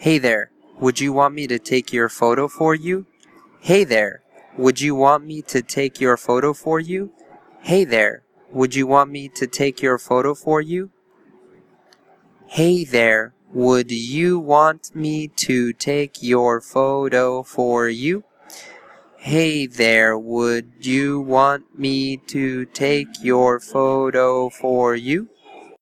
Hey there, would you want me to take your photo for you? Hey there, would you want me to take your photo for you? Hey there, would you want me to take your photo for you? Hey there, would you want me to take your photo for you? Hey there, would you want me to take your photo for you?